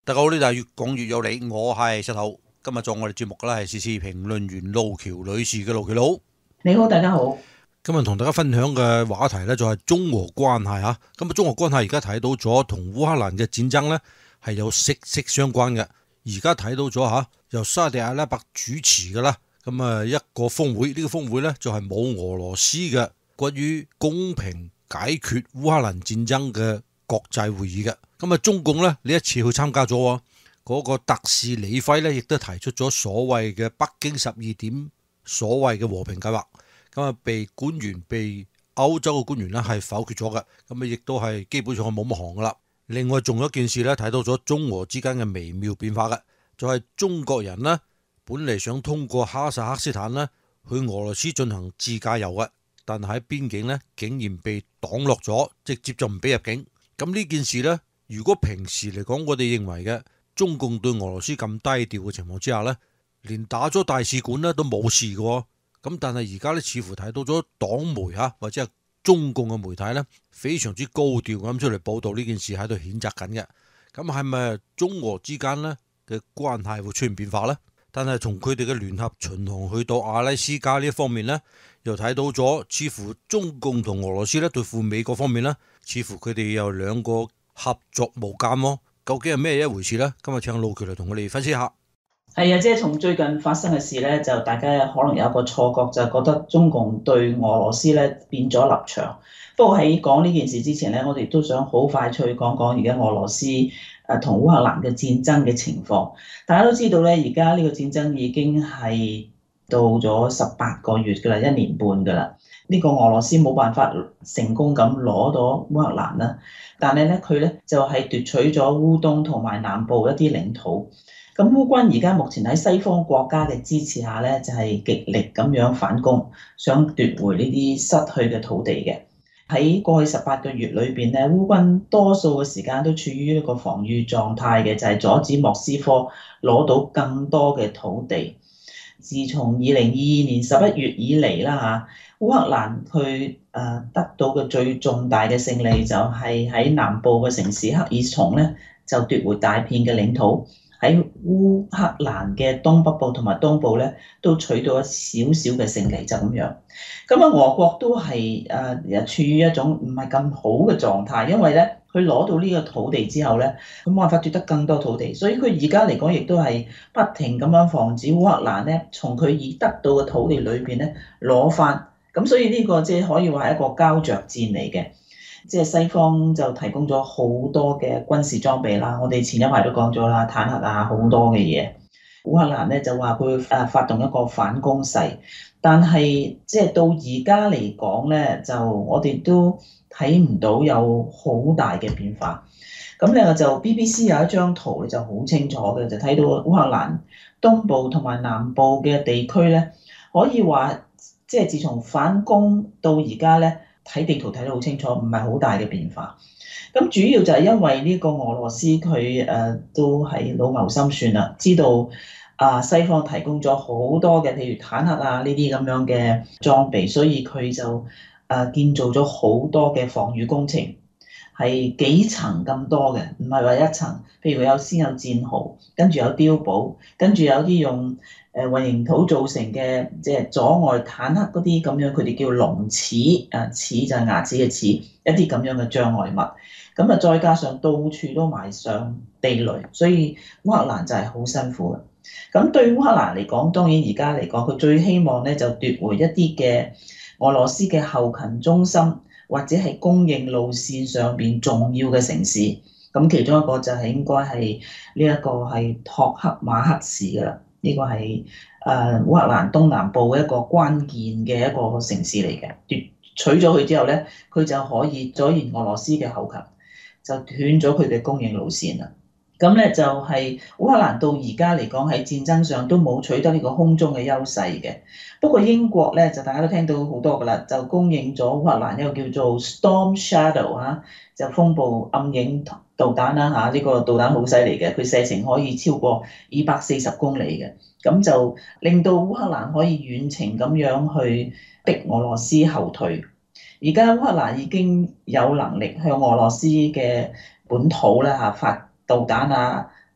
大家好，呢度係越講越有理，我係石頭。今日做我哋節目嘅咧係時事評論員路橋女士嘅路橋佬。 你好，大家好。 今日同大家分享嘅話題咧就係中俄關係嚇。咁中俄關係而家睇到咗同烏克蘭嘅戰爭咧係有息息相關嘅。而家睇到咗嚇，由沙特阿拉伯主持嘅啦，咁一個峰會，呢個峰會咧就係冇俄羅斯嘅關於公平解決烏克蘭戰爭嘅國際會議嘅。中共咧呢一次去參加咗，嗰個特使李輝咧亦都提出咗所謂嘅北京12點所謂嘅和平計劃，被歐洲嘅官員咧係否決咗嘅，亦都係基本上係冇乜行噶啦。另外仲有一件事咧睇到咗中俄之間嘅微妙變化嘅，就係中國人呢本嚟想通過哈薩克斯坦呢去俄羅斯進行自駕遊嘅，但係喺邊境呢竟然被擋落咗，直接就唔俾入境。咁呢件事呢，如果平時嚟講，我哋認為嘅中共對俄羅斯咁低調嘅情況之下呢，連打咗大使館呢都冇事嘅。咁但係而家呢，似乎睇到咗黨媒或者係中共嘅媒體呢，非常之高調咁出嚟報導呢件事，喺度譴責緊嘅。咁係咪中俄之間呢嘅關係會出現變化呢？但係從佢哋嘅聯合巡航去到阿拉斯加呢一方面呢，又睇到咗似乎中共同俄羅斯呢對付美國方面呢，似乎佢哋有兩個合作無間喎。究竟係咩一回事呢？今日請路橋嚟同我哋分析下。 係啊，即係從最近發生嘅事咧，就大家可能有一個錯覺，就係覺得中共對俄羅斯咧變咗立場。不過喺講呢件事之前咧，我哋都想好快脆講講而家俄羅斯同烏克蘭嘅戰爭嘅情況。大家都知道咧，而家呢個戰爭已經係到咗18個月㗎啦，1年半㗎啦。呢個俄羅斯冇辦法成功咁攞到烏克蘭啦，但係咧佢咧就係奪取咗烏東同埋南部一啲領土。咁烏軍而家目前喺西方國家嘅支持下咧，就係極力咁樣反攻，想奪回呢啲失去嘅土地嘅。喺過去18個月裏邊咧，烏軍多數嘅時間都處於一個防禦狀態嘅，就係阻止莫斯科攞到更多嘅土地。自從2022年11月以嚟啦嚇，烏克蘭佢得到嘅最重大嘅勝利就係喺南部嘅城市克爾松咧，就奪回大片嘅領土。喺烏克蘭嘅東北部同埋東部咧，都取到一少少嘅勝利，就咁樣。俄國都係處於一種唔係咁好嘅狀態，因為咧佢攞到呢個土地之後咧，佢冇辦法奪得更多土地，所以佢而家嚟講亦都係不停咁樣防止烏克蘭咧從佢已得到嘅土地裏邊咧攞翻。咁所以呢個即係可以話係一個膠着戰嚟嘅。即係西方就提供咗好多嘅軍事裝備啦，我哋前一排都講咗啦，坦克好多嘅嘢。烏克蘭咧就話佢發動一個反攻勢，但係即係到而家嚟講咧，就我哋都睇唔到有好大嘅變化。咁咧就 BBC 有一張圖咧就好清楚嘅，就睇到烏克蘭東部同埋南部嘅地區咧，可以話即係自從反攻到而家咧。睇地圖睇得好清楚，唔係好大嘅變化。咁主要就係因為呢個俄羅斯佢都係老謀深算啦，知道西方提供咗好多嘅譬如坦克呢啲咁樣嘅裝備，所以佢就建造咗好多嘅防禦工程，係幾層咁多嘅，唔係話一層。譬如先有戰壕，跟住有碉堡，跟住有啲用混凝土造成嘅，即係阻礙坦克嗰啲咁樣，佢哋叫龍齒，齒就係牙齒嘅齒，一啲咁樣嘅障礙物。咁再加上到處都埋上地雷，所以烏克蘭就係好辛苦嘅。咁對烏克蘭嚟講，當然而家嚟講，佢最希望咧就奪回一啲嘅俄羅斯嘅後勤中心或者係供應路線上邊重要嘅城市。咁其中一個就係應該係呢一個係托克馬克市㗎啦。呢個係烏克蘭東南部一個關鍵嘅一個城市嚟嘅，奪取咗佢之後咧，佢就可以阻延俄羅斯嘅後勤，就斷咗佢嘅供應路線啦。咁咧就係烏克蘭到而家嚟講喺戰爭上都冇取得呢個空中嘅優勢嘅。不過英國咧就大家都聽到好多㗎啦，就供應咗烏克蘭一個叫做 Storm Shadow 就風暴暗影導彈啦，呢個導彈好犀利嘅，佢射程可以超過240公里嘅，咁就令到烏克蘭可以遠程咁樣去逼俄羅斯後退。而家烏克蘭已經有能力向俄羅斯嘅本土啦發導彈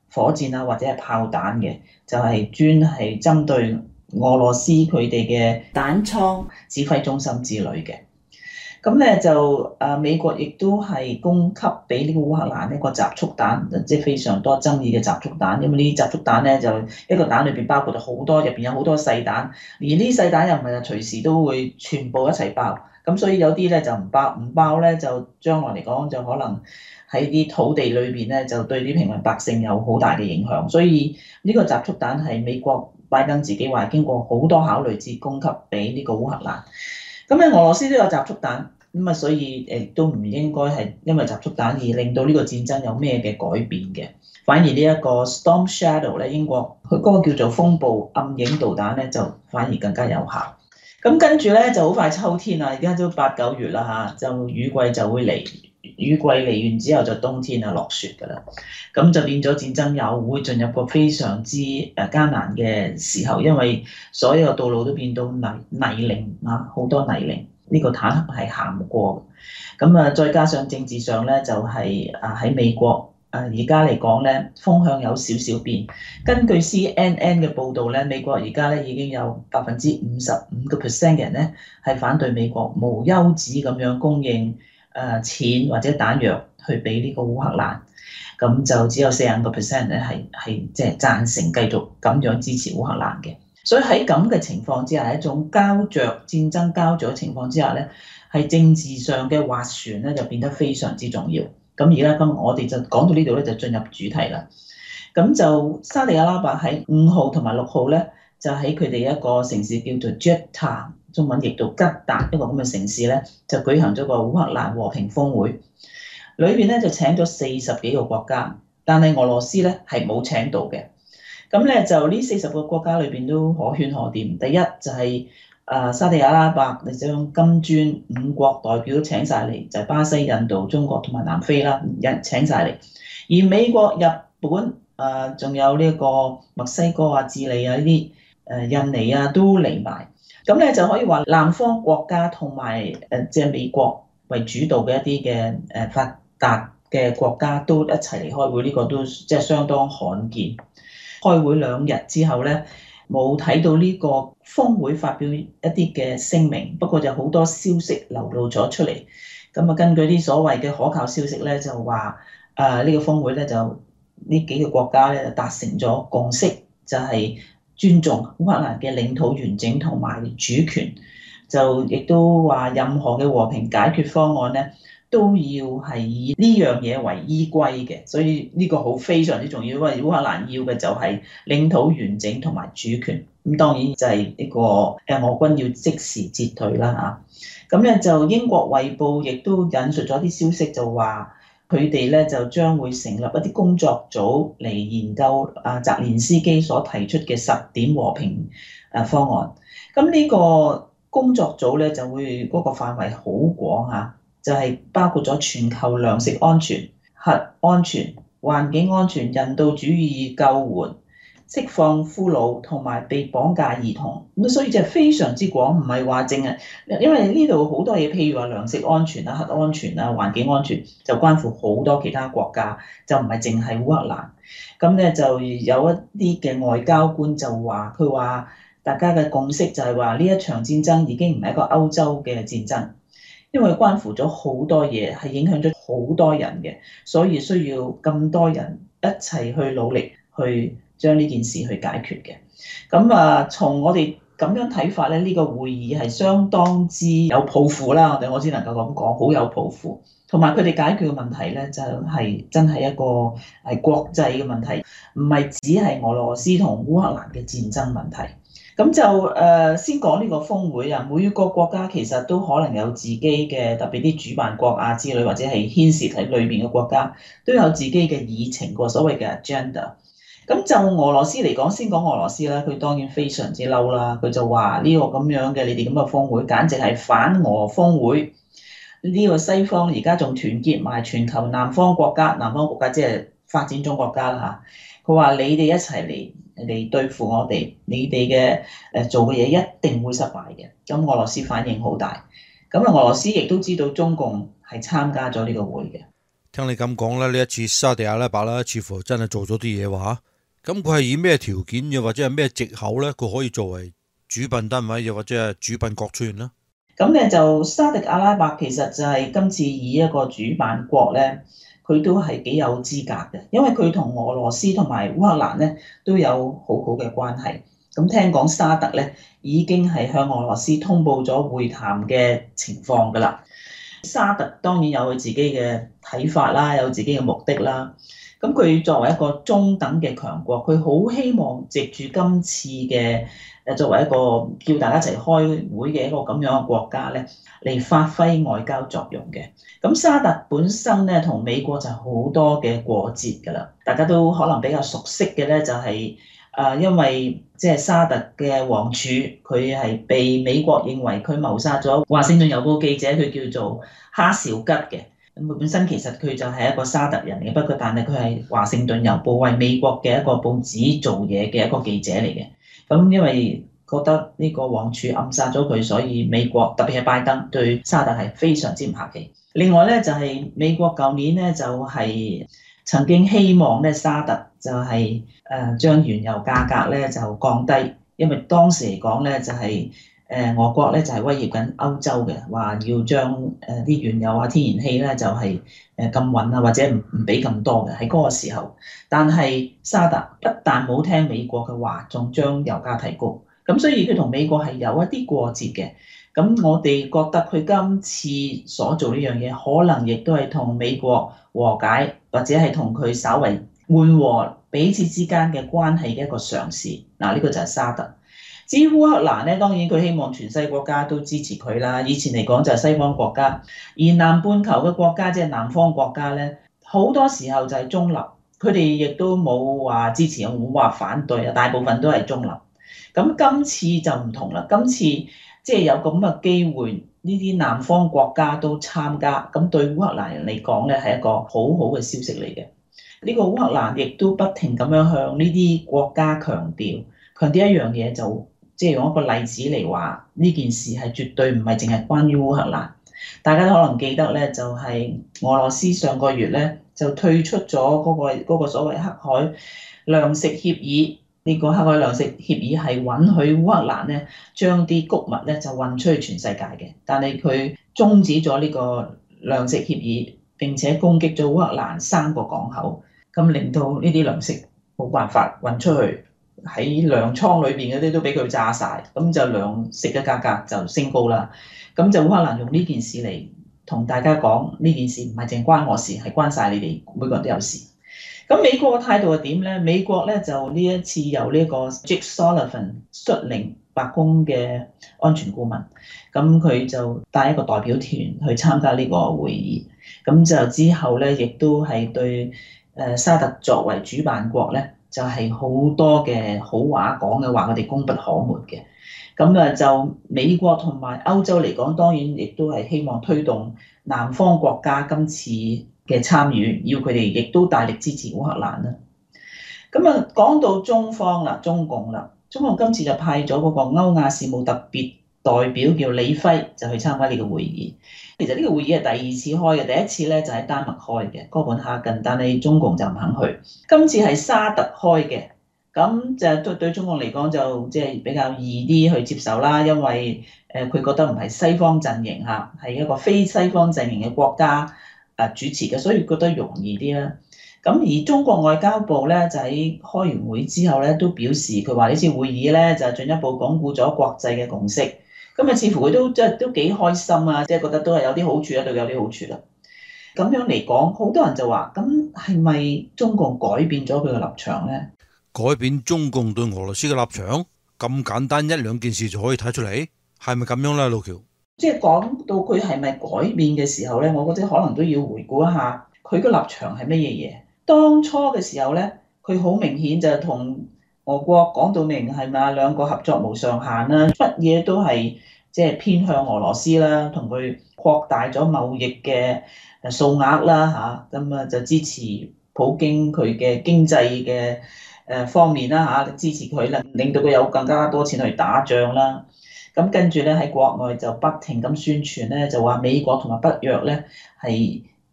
火箭啊或者係炮彈嘅，就係專係針對俄羅斯佢哋嘅彈倉指揮中心之類嘅。咁咧就美國亦都係供給俾呢個烏克蘭一個集束彈，即係非常多爭議嘅集束彈。因為呢啲集束彈咧就一個彈裏邊包括咗好多，入邊有好多細彈，而呢啲細彈又唔係隨時都會全部一齊爆。咁所以有啲咧就唔爆，唔爆咧就將來嚟講就可能喺啲土地裏邊咧就對啲平民百姓有好大嘅影響。所以呢個集束彈係美國拜登自己話經過好多考慮至供給俾呢個烏克蘭。咁咧，俄羅斯都有集束彈，咁啊，所以亦都唔應該係因為集束彈而令到呢個戰爭有咩嘅改變嘅。反而呢一個 Storm Shadow 咧，英國佢嗰個叫做風暴暗影導彈咧，就反而更加有效。咁跟住咧就好快秋天啦，而家都8、9月啦嚇，就雨季就會嚟，雨季嚟完之後就冬天啊落雪㗎啦，咁就變咗戰爭又會進入個非常之艱難嘅時候，因為所有道路都變到泥濘啊，好多泥濘，呢個坦克係行唔過嘅。咁啊，再加上政治上咧就係喺美國而家嚟講咧風向有少少變。根據 CNN 嘅報導咧，美國而家咧已經有55%嘅人咧係反對美國無休止咁樣供應錢或者彈藥去俾呢個烏克蘭，咁就只有45%咧係即係贊成繼續咁樣支持烏克蘭嘅。所以喺咁嘅情況之下，一種膠着戰爭膠着嘅情況之下咧，係政治上嘅斡旋咧就變得非常之重要。咁而家我哋就講到呢度咧，就進入主題啦。咁就沙地阿拉伯喺5號同埋6號咧，就喺佢哋一個城市叫做 Jeddah， 中文譯到吉達，一個咁嘅城市咧，就舉行咗個烏克蘭和平峰會。裏邊咧就請咗40幾個國家，但係俄羅斯咧係冇請到嘅。咁咧就呢40個國家裏邊都可圈可點。第一就係沙地阿拉伯，你將金磚5國代表請晒嚟，就係巴西、印度、中國同埋南非啦，請晒嚟。而美國、日本仲有呢個墨西哥啊、智利啊呢啲印尼啊都嚟埋。咁咧就可以話南方國家同埋即係美國為主導嘅一啲嘅發達嘅國家都一齊嚟開會，呢個都即係相當罕見。開會2日之後咧，冇睇到呢個峰會發表一啲嘅聲明，不過就好多消息流露咗出嚟。咁啊，根據啲所謂嘅可靠消息咧，就話呢個峰會咧就呢幾個國家咧達成咗共識，就係尊重烏克蘭嘅領土完整同埋主權，就亦都話任何嘅和平解決方案咧都要係以呢樣嘢為依歸嘅，所以呢個好非常之重要，因為烏克蘭要嘅就係領土完整同埋主權。咁當然就係呢個俄軍要即時撤退啦嚇。咁咧就英國衛報亦都引述咗啲消息，就話佢哋咧就將會成立一啲工作組嚟研究澤連斯基所提出嘅10點和平方案。咁呢個工作組咧就會嗰個範圍好廣嚇。就係包括咗全球糧食安全、核安全、環境安全、人道主義救援、釋放俘虜同埋被綁架兒童。咁所以就非常之廣，唔係話淨係，因為呢度好多嘢，譬如話糧食安全啊、核安全啊、環境安全，就關乎好多其他國家，就唔係淨係烏克蘭。咁咧就有一啲嘅外交官就話，佢話大家嘅共識就係話呢一場戰爭已經唔係一個歐洲嘅戰爭。因為關乎咗好多嘢，係影響咗好多人嘅，所以需要咁多人一齊去努力去將呢件事去解決嘅。咁從我哋咁樣睇法咧，呢個會議係相當之有抱負啦。我只能夠咁講，好有抱負。同埋佢哋解決嘅問題咧，就係真係一個係國際嘅問題，唔係只係俄羅斯同烏克蘭嘅戰爭問題。咁就先講呢個峰會啊，每個國家其實都可能有自己嘅，特別啲主辦國啊之類，或者係牽涉喺裏面嘅國家都有自己嘅議程，個所謂嘅 agenda。咁就俄羅斯嚟講，先講俄羅斯啦，佢當然非常之嬲啦，佢就話呢個咁樣嘅你哋咁嘅峰會，簡直係反俄峰會。呢個西方而家仲團結埋全球南方國家即係發展中國家啦嚇。佢話你哋一齊嚟對付我哋，你哋嘅做嘅嘢一定會失敗嘅。咁俄羅斯反應好大，咁俄羅斯亦都知道中共係參加咗呢個會嘅。 聽你咁講咧，呢一次沙地阿拉伯啦，似乎真係做咗啲嘢喎嚇。咁佢係以咩條件又或者係咩藉口咧？佢可以作為主辦單位又或者係主辦國出現啦。 咁咧就沙特阿拉伯其實就係今次以一個主辦國咧，佢都係幾有資格嘅，因為佢同俄羅斯同埋烏克蘭咧都有好好嘅關係。咁聽講沙特咧已經係向俄羅斯通報咗會談嘅情況㗎啦。沙特當然有佢自己嘅睇法啦，有自己嘅目的啦。咁佢作為一個中等嘅強國，佢好希望藉住今次嘅作為一個叫大家一齊開會嘅一個咁樣嘅國家咧，嚟發揮外交作用嘅。咁沙特本身咧同美國就好多嘅過節㗎啦，大家都可能比較熟悉嘅咧就係因為即係沙特嘅王儲，佢係被美國認為佢謀殺咗華盛頓郵報記者，佢叫做哈紹吉嘅。咁佢本身其實佢就係一個沙特人嘅，不過但係佢係華盛頓郵報為美國嘅一個報紙做嘢嘅一個記者嚟嘅。咁因為覺得呢個王儲暗殺咗佢，所以美國特別係拜登對沙特係非常之唔客氣。另外咧就係美國舊年咧就係曾經希望咧沙特就係將原油價格咧就降低，因為當時嚟講咧就係俄國咧就係威脅緊歐洲嘅，話要將啲原油啊天然氣咧就係禁運啊，或者唔俾咁多嘅喺嗰個時候。但係沙特不但冇聽美國嘅話，仲將油價提高，咁所以佢同美國係有一啲過節嘅。咁我哋覺得佢今次所做呢樣嘢，可能亦都係同美國和解，或者係同佢稍為緩和彼此之間嘅關係嘅一個嘗試。嗱，呢個就係沙特。至於烏克蘭咧，當然佢希望全世界國家都支持佢啦。以前嚟講就係西方國家，而南半球嘅國家即係南方國家咧，好多時候就係中立，佢哋亦都冇話支持，冇話反對啊，大部分都係中立。咁今次就唔同啦，今次即係有咁嘅機會，呢啲南方國家都參加，咁對烏克蘭人嚟講咧係一個好好嘅消息嚟嘅。呢個烏克蘭亦都不停咁樣向呢啲國家強調一樣嘢，就即係用一個例子嚟話呢件事係絕對唔係淨係關於烏克蘭。大家都可能記得咧，就係俄羅斯上個月咧就退出咗嗰個所謂黑海糧食協議。呢個黑海糧食協議係允許烏克蘭咧將啲穀物咧就運出去全世界嘅，但係佢終止咗呢個糧食協議，並且攻擊咗烏克蘭3個港口，咁令到呢啲糧食冇辦法運出去，喺糧倉裏邊嗰啲都俾佢炸晒，咁就糧食嘅價格就升高啦。咁就烏克蘭用呢件事嚟同大家講，呢件事唔係淨關我事，係關晒你哋每個人都有事。咁美國嘅態度係點咧？美國咧就呢一次由呢個 Jake Sullivan 率領白宮嘅安全顧問，咁佢就帶一個代表團去參加呢個會議。咁就之後咧，亦都係對沙特作為主辦國咧，就係好多嘅好話講嘅話，我哋功不可沒嘅。咁就美國同埋歐洲嚟講，當然亦都係希望推動南方國家今次嘅參與，要佢哋亦都大力支持烏克蘭啦。咁講到中方啦，中共啦，中共今次就派咗嗰個歐亞事務特別代表叫李輝，就去參加呢個會議。其實呢個會議係第2次開嘅，第一次咧就喺丹麥開嘅哥本哈根，但係中共就唔肯去。今次係沙特開嘅，咁就對中共嚟講就即係比較易啲去接受啦，因為佢覺得唔係西方陣營嚇，係一個非西方陣營嘅國家主持嘅，所以覺得容易啲啦。咁而中國外交部咧就喺開完會之後咧都表示，佢話呢次會議咧就進一步鞏固咗國際嘅共識。咁似乎佢都即係都幾開心啊，即係覺得都係有啲好處啦，對佢有啲好處啦。咁樣嚟講，好多人就話：咁係咪中共改變咗佢嘅立場咧？ 改變中共對俄羅斯嘅立場咁簡單1-2件事就可以睇出嚟，係咪咁樣咧，老喬？ 即係講到佢係咪改變嘅時候咧，我覺得可能都要回顧一下佢個立場係乜嘢嘢。當初嘅時候咧，佢好明顯就同俄國講到明係咪兩個合作無上限啦，乜嘢都係即係偏向俄羅斯啦，同佢擴大咗貿易嘅數額啦嚇，咁就支持普京佢嘅經濟嘅方面啦嚇，支持佢啦，令到佢有更加多錢去打仗啦。咁跟住咧喺國外就不停咁宣傳咧，就話美國同埋北約咧係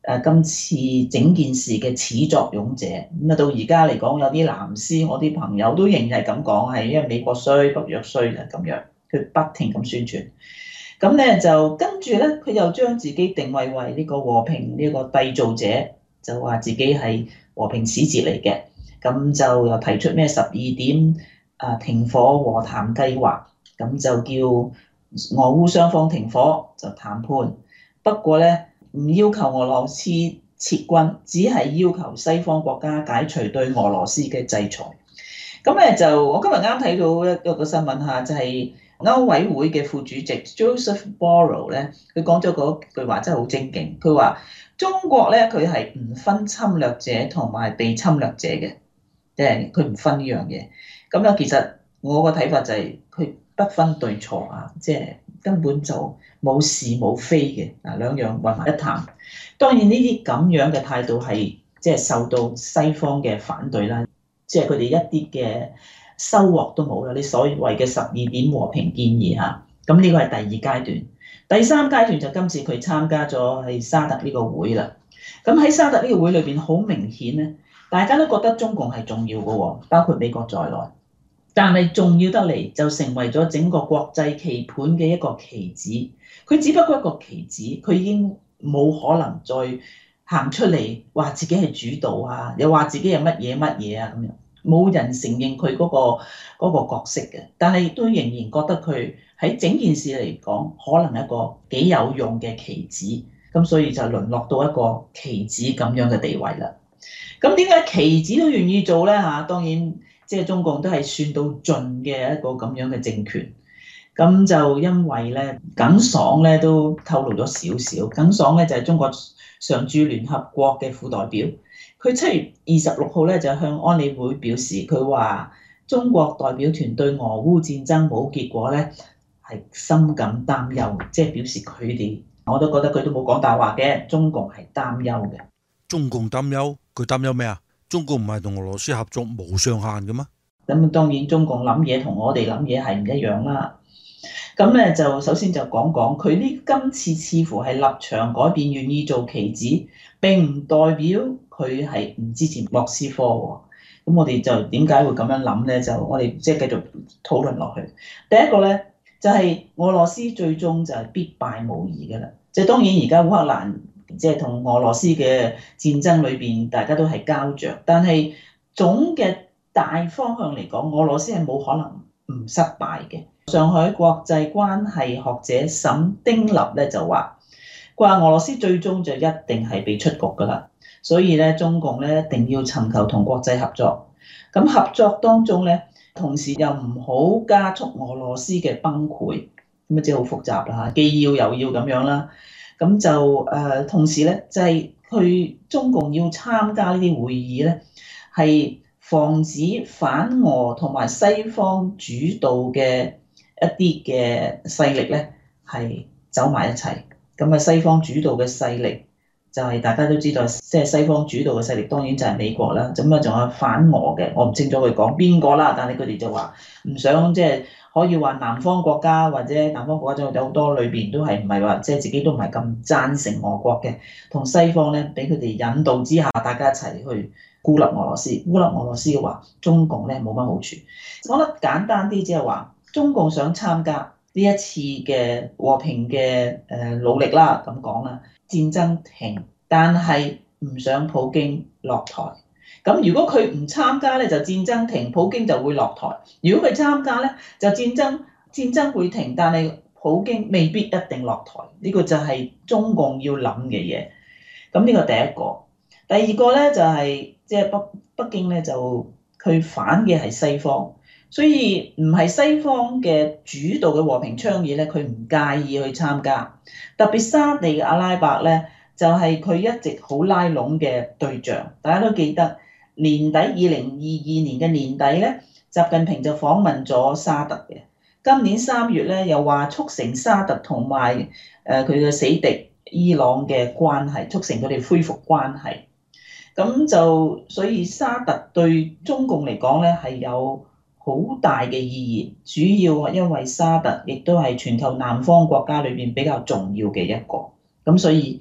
今次整件事嘅始作俑者。咁啊到而家嚟講，有啲藍絲我啲朋友都仍然係咁講，係因為美國衰、北約衰就咁樣，佢不停咁宣傳。咁咧就跟住咧，佢又將自己定位為呢個和平呢個締造者，就話自己係和平使節嚟嘅。咁就又提出咩12點停火和談計劃，咁就叫俄烏雙方停火就談判。不過咧唔要求俄羅斯撤軍，只係要求西方國家解除對俄羅斯嘅制裁。咁咧就我今日啱睇到一個新聞嚇，就係歐委會嘅副主席 Joseph Borrell 咧，佢講咗嗰句話真係好精警。佢話中國咧佢係唔分侵略者同埋被侵略者嘅，即係佢唔分呢樣嘢。咁樣其實我個睇法就係佢不分對錯啊，即係根本就冇是冇非嘅嗱，兩樣混為一談。當然呢啲咁樣嘅態度係即係受到西方嘅反對啦，即係佢哋一啲嘅收穫都冇啦。你所謂嘅12點和平建議嚇，咁呢個係第二階段。第三階段就今次佢參加咗係沙特呢個會啦。咁喺沙特呢個會裏邊，好明顯咧，大家都覺得中共係重要嘅喎，包括美國在內。但係重要得嚟就成為咗整個國際棋盤嘅一個棋子。佢只不過一個棋子，佢已經冇可能再行出嚟話自己係主導啊，又話自己係乜嘢乜嘢啊咁樣，冇人承認佢嗰個角色嘅。但係亦都仍然覺得佢喺整件事嚟講，可能係一個幾有用嘅棋子。咁所以就淪落到一個棋子咁樣嘅地位啦。咁點解棋子都願意做咧嚇？當然即係中共都係算到盡嘅一個咁樣嘅政權。咁就因為咧，耿爽咧都透露咗少少。耿爽咧就係中國常駐聯合國嘅副代表。佢7月26號咧就向安理會表示，佢話中國代表團對俄烏戰爭冇結果咧係深感擔憂，即係表示佢哋，我都覺得佢都冇講大話嘅，中共係擔憂嘅。 中共擔憂，佢擔憂咩啊？中共唔係同俄羅斯合作無上限嘅咩？ 咁當然中共諗嘢同我哋諗嘢係唔一樣啦。咁咧就首先就講講佢呢今次似乎係立場改變，願意做棋子，並唔代表佢係唔支持莫斯科喎。咁我哋就點解會咁樣諗咧？就我哋即係繼續討論落去。第一個咧就係俄羅斯最終就係必敗無疑嘅啦。即係當然而家烏克蘭即係同俄羅斯嘅戰爭裏邊，大家都係膠着，但係總嘅大方向嚟講，俄羅斯係冇可能唔失敗嘅。上海國際關係學者沈丁立咧就話俄羅斯最終就一定係被出局㗎啦，所以咧中共咧一定要尋求同國際合作。咁合作當中咧，同時又唔好加速俄羅斯嘅崩潰，咁啊即係好複雜啦嚇，既要又要咁樣啦。咁就同時咧就係佢中共要參加呢啲會議咧，係防止反俄同埋西方主導嘅一啲嘅勢力咧係走埋一齊。咁啊西方主導嘅勢力就係大家都知道，即係西方主導嘅勢力當然就係美國啦。咁啊仲有反俄嘅，我唔清楚佢講邊個啦，但係佢哋就話唔想即係可以話南方國家或者南方國家有好多裏邊都係唔係話即係自己都唔係咁贊成俄國嘅，同西方咧俾佢哋引導之下，大家一齊去孤立俄羅斯。孤立俄羅斯嘅話，中共咧冇乜好處。講得簡單啲，即係話中共想參加呢一次嘅和平嘅努力啦，咁講啦，戰爭停，但係唔想普京落台。咁如果佢唔參加咧，就戰爭停，普京就會落台；如果佢參加咧，就戰爭會停，但係普京未必一定落台。呢個就係中共要諗嘅嘢。咁呢個第一個。第二個咧就係即係北京咧就佢反嘅係西方，所以唔係西方嘅主導嘅和平倡議咧，佢唔介意去參加。特別沙地阿拉伯咧，就係佢一直好拉攏嘅對象。大家都記得年底2022年嘅年底咧，習近平就訪問咗沙特嘅。今年3月咧，又話促成沙特同埋佢嘅死敵伊朗嘅關係，促成佢哋恢復關係。咁就所以沙特對中共嚟講咧係有好大嘅意義，主要因為沙特亦都係全球南方國家裏邊比較重要嘅一個。咁所以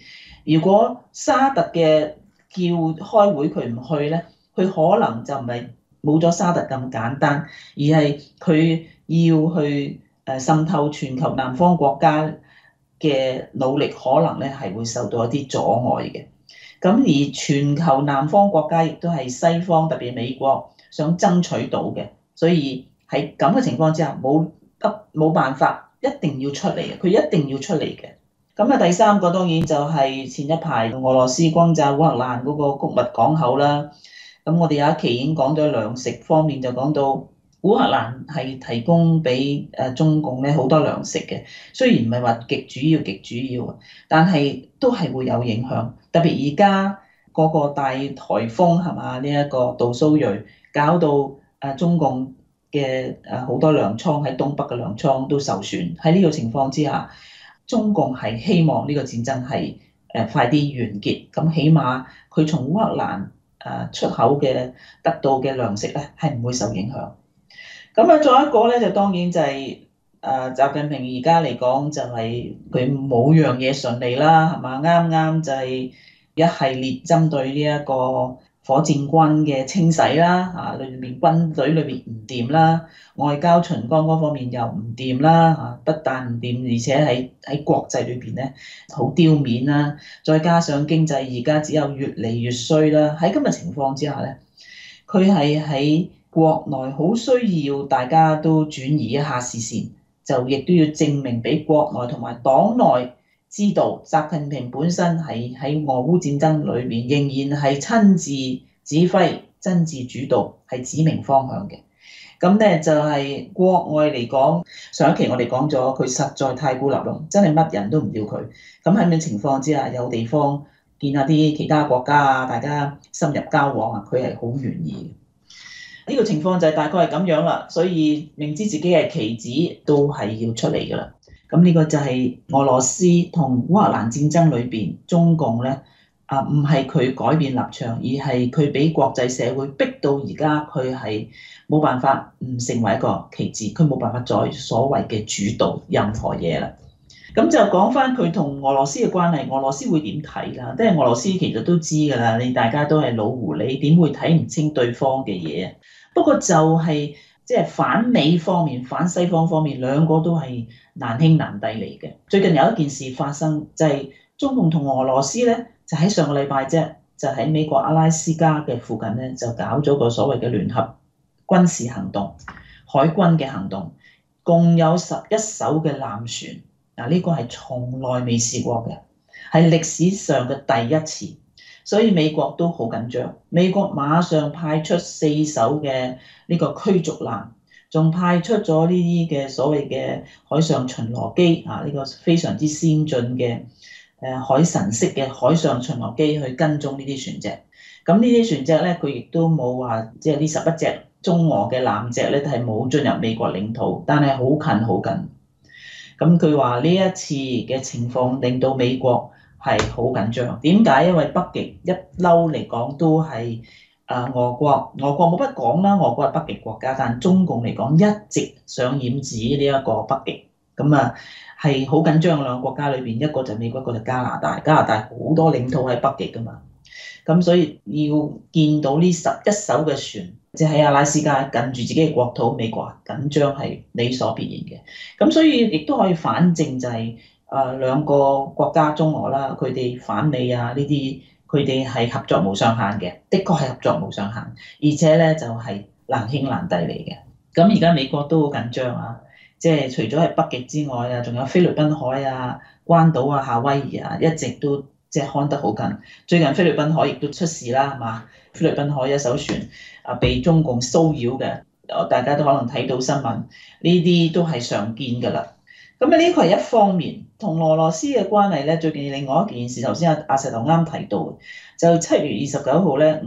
如果沙特嘅叫開會佢唔去咧，佢可能就唔係冇咗沙特咁簡單，而係佢要去滲透全球南方國家嘅努力，可能咧係會受到一啲阻礙嘅。咁而全球南方國家亦都係西方特別美國想爭取到嘅，所以喺咁嘅情況之下，冇辦法，一定要出嚟嘅，佢一定要出嚟嘅。咁啊，第三個當然就係前一排俄羅斯轟炸烏克蘭嗰個穀物港口啦。咁我哋有一期已經講咗糧食方面，就講到烏克蘭係提供俾中共咧好多糧食嘅，雖然唔係話極主要，但係都係會有影響。特別而家嗰個大颱風係嘛，呢一個杜蘇芮搞到中共嘅好多糧倉喺東北嘅糧倉都受損。喺呢個情況之下，中共係希望呢個戰爭係快啲完結，咁起碼佢從烏克蘭出口嘅得到嘅糧食咧係唔會受影響。咁啊，再一個咧就當然就係習近平而家嚟講就係佢冇樣嘢順利啦，係嘛？啱啱就係一系列針對呢一個火箭軍嘅清洗啦，裏面軍隊裏面唔掂啦，外交巡崗嗰方面又唔掂啦，不但唔掂，而且喺國際裏邊咧好丟面啦，再加上經濟而家只有越嚟越衰啦，喺咁嘅情況之下咧，佢係喺國內好需要大家都轉移一下視線，就亦都要證明俾國內同埋黨內知道，習近平本身係喺俄烏戰爭裏面仍然係親自指揮、親自主導，係指明方向嘅。咁咧就係國外嚟講，上一期我哋講咗，佢實在太孤立咯，真係乜人都唔要佢。咁喺咁嘅情況之下，有地方見下啲其他國家啊，大家深入交往啊，佢係好願意。呢個情況就係大概係咁樣啦，所以明知自己係棋子，都係要出嚟㗎啦。咁呢個就係俄羅斯同烏克蘭戰爭裏邊，中共咧唔係佢改變立場，而係佢俾國際社會逼到而家，佢係冇辦法唔成為一個棋子，佢冇辦法再所謂嘅主導任何嘢啦。咁就講翻佢同俄羅斯嘅關係，俄羅斯會點睇啦？即係俄羅斯其實都知㗎啦，你大家都係老狐狸，點會睇唔清對方嘅嘢？不過就係即係反美方面、反西方方面，兩個都係難兄難弟嚟嘅。最近有一件事發生，就係中共同俄羅斯咧，就喺上個禮拜啫，就喺美國阿拉斯加嘅附近咧，就搞咗個所謂嘅聯合軍事行動，海軍嘅行動，共有11艘嘅艦船。嗱，呢個係從來未試過嘅，係歷史上嘅第一次。所以美國都好緊張，美國馬上派出4艘嘅呢個驅逐艦，仲派出咗呢啲嘅所謂嘅海上巡邏機呢個非常之先進嘅海神式嘅海上巡邏機去跟蹤呢啲船隻。咁呢啲船隻咧，佢亦都冇話即係呢11隻中俄嘅艦隻咧，係冇進入美國領土，但係好近好近。咁佢話呢一次嘅情況令到美國係好緊張，點解？因為北極一嬲嚟講都係俄國冇乜講啦，俄國係北極國家，但中共嚟講一直想染指呢一個北極，咁係好緊張嘅兩個國家裏邊，一個就美國，一個就加拿大，加拿大好多領土喺北極噶嘛，咁所以要見到呢11艘嘅船，即係喺阿拉斯加近住自己嘅國土，美國緊張係理所必然嘅，咁所以亦都可以反證就係。兩個國家中俄啦，佢哋反美呢啲，佢哋係合作無上限嘅，的確係合作無上限，而且咧就係難兄難弟嚟嘅。咁而家美國都好緊張啊，即係除咗係北極之外啊，仲有菲律賓海啊、關島啊、夏威夷啊，一直都即係看得好緊。最近菲律賓海亦都出事啦，係嘛？菲律賓海一艘船被中共騷擾嘅，大家都可能睇到新聞，呢啲都係常見㗎啦。咁呢個係一方面，同俄羅斯嘅關係咧，最近另外一件事，頭先阿石頭啱提到，就7月29號咧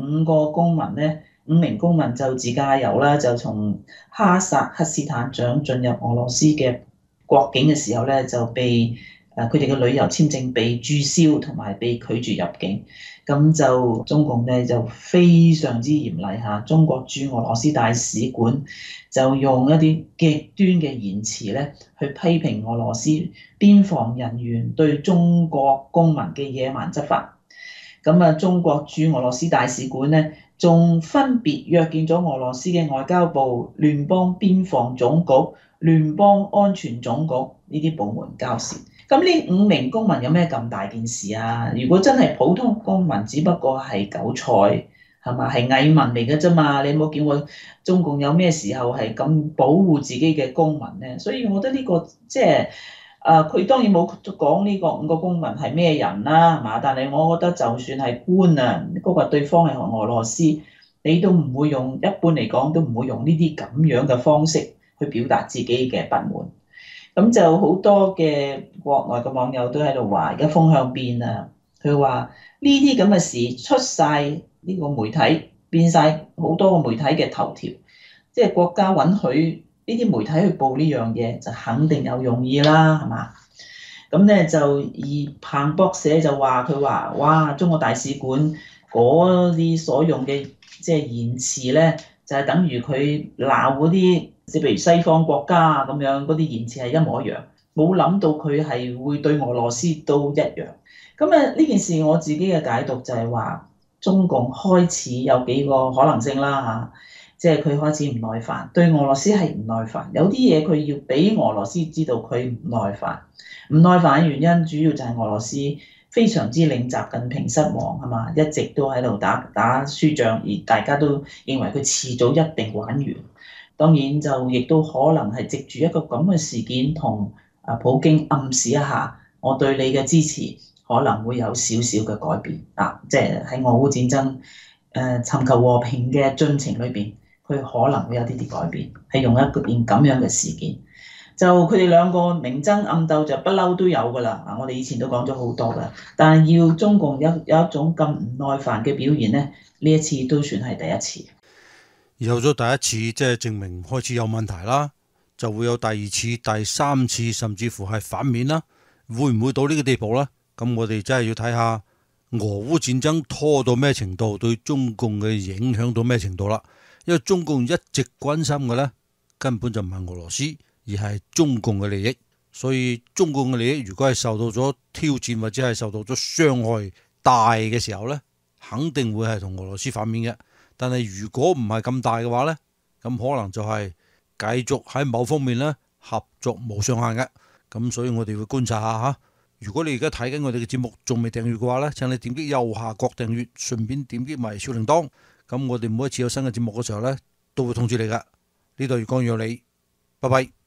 ，5名公民就自駕遊啦，就從哈薩克斯坦想進入俄羅斯嘅國境嘅時候咧，就被佢哋嘅旅遊簽證被註銷同埋被拒絕入境。咁就中共咧就非常之嚴厲嚇，中國駐俄羅斯大使館就用一啲極端嘅言辭咧去批評俄羅斯邊防人員對中國公民嘅野蠻執法。咁啊，中國駐俄羅斯大使館咧仲分別約見咗俄羅斯嘅外交部、聯邦邊防總局、聯邦安全總局呢啲部門交涉。咁呢5名公民有咩咁大件事啊？如果真係普通公民，只不過係韭菜，係嘛？係蟻民嚟嘅啫嘛。你有冇見過中共有咩時候係咁保護自己嘅公民咧？所以我覺得呢個即係佢當然冇講呢個5個公民係咩人啦，係嘛？但係我覺得就算係官啊，嗰個對方係俄羅斯，你都唔會用，一般嚟講都唔會用呢啲咁樣嘅方式去表達自己嘅不滿。咁就好多嘅國內嘅網友都喺度話，而家風向變啊！佢話呢啲咁嘅事出晒呢個媒體，變晒好多個媒體嘅頭條，即係國家允許呢啲媒體去報呢樣嘢，就肯定有用意啦，係嘛？咁咧就而彭博社就話佢話，哇！中國大使館嗰啲所用嘅即係言辭咧，就係等於佢鬧嗰啲。即譬如西方國家咁樣，嗰啲言辭係一模一樣，冇諗到佢係會對俄羅斯都一樣。咁呢件事我自己嘅解讀就係話，中共開始有幾個可能性啦嚇，即係佢開始唔耐煩，對俄羅斯係唔耐煩，有啲嘢佢要俾俄羅斯知道佢唔耐煩。唔耐煩嘅原因主要就係俄羅斯非常之令習近平失望係嘛，一直都喺度打輸仗，而大家都認為佢遲早一定玩完。當然就亦都可能係藉住一個咁嘅事件，同普京暗示一下，我對你嘅支持可能會有少少嘅改變啊！即係喺俄烏戰爭尋求和平嘅進程裏邊，佢可能會有啲改變，係用一件咁樣嘅事件。就佢哋兩個明爭暗鬥就不嬲都有㗎啦啊！我哋以前都講咗好多㗎，但係要中共有一種咁唔耐煩嘅表現咧，呢一次都算係第一次。 有咗第一次，即係證明開始有問題啦，就會有第二次、第三次，甚至乎係反面啦。會唔會到呢個地步呢？咁我哋真係要睇下俄烏戰爭拖到咩程度，對中共嘅影響到咩程度啦。因為中共一直關心嘅呢，根本就唔係俄羅斯，而係中共嘅利益。所以中共嘅利益如果係受到咗挑戰，或者係受到咗傷害大嘅時候呢，肯定會係同俄羅斯反面嘅。但係如果唔係咁大嘅話呢，咁可能就係繼續喺某方面呢合作無上限嘅。咁所以我哋會觀察下嚇。如果你而家睇緊我哋嘅節目仲未訂閱嘅話呢，請你點擊右下角訂閱，順便點擊埋小鈴鐺。咁我哋每一次有新嘅節目嘅時候呢，都會通知你㗎。呢度粵講粵有理，拜拜。